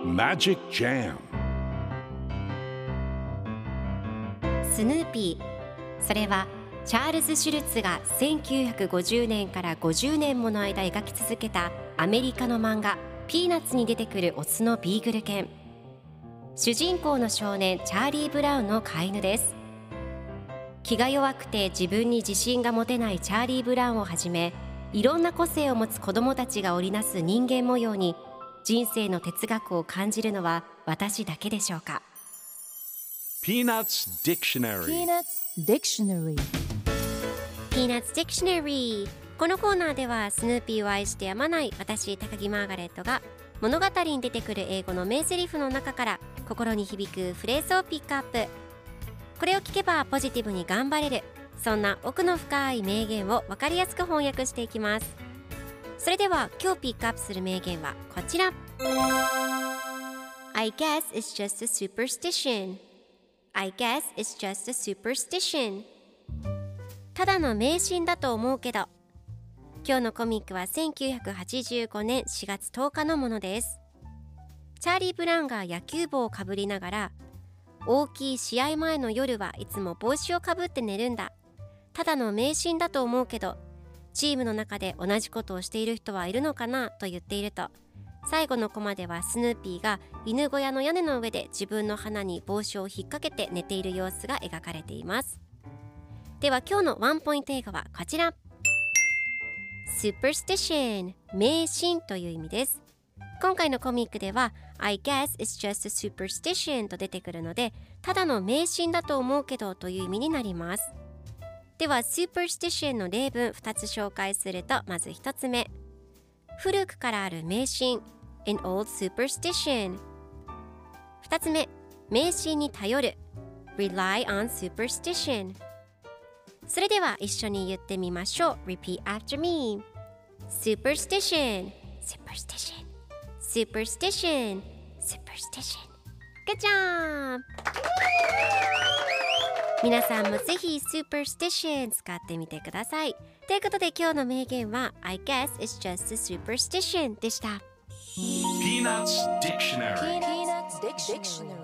Magic Jam スヌーピー、それはチャールズ・シュルツが1950年から50年もの間描き続けたアメリカの漫画ピーナッツに出てくるオスのビーグル犬。主人公の少年チャーリー・ブラウンの飼い犬です。気が弱くて自分に自信が持てないチャーリー・ブラウンをはじめ、いろんな個性を持つ子どもたちが織りなす人間模様に人生の哲学を感じるのは私だけでしょうか。 Peanuts Dictionary Peanuts Dictionary Peanuts Dictionary。 このコーナーではスヌーピーを愛してやまない私高木マーガレットが物語に出てくる英語の名台詞の中から心に響くフレーズをピックアップ。これを聞けばポジティブに頑張れる、そんな奥の深い名言を分かりやすく翻訳していきます。それでは今日ピックアップする名言はこちら。 I guess it's just a superstition. I guess it's just a superstition。 ただの迷信だと思うけど。今日のコミックは1985年4月10日のものです。チャーリー・ブラウンが野球帽をかぶりながら、大きい試合前の夜はいつも帽子をかぶって寝るんだ。ただの迷信だと思うけど、チームの中で同じことをしている人はいるのかなと言っていると、最後のコマではスヌーピーが犬小屋の屋根の上で自分の鼻に帽子を引っ掛けて寝ている様子が描かれています。では今日のワンポイント英語はこちら。 Superstition、 迷信という意味です。今回のコミックでは I guess it's just a superstition と出てくるので、ただの迷信だと思うけどという意味になります。では superstition の例文2つ紹介すると、まず1つ目、古くからある迷信 an old superstition。 2つ目、迷信に頼る rely on superstition。 それでは一緒に言ってみましょう。 Repeat after me。 Superstition Superstition Superstition Superstition。 Good job。皆さんもぜひ Superstition 使ってみてください。ということで今日の名言は I guess it's just a superstition でした。 Peanuts Dictionary Peanuts Dictionary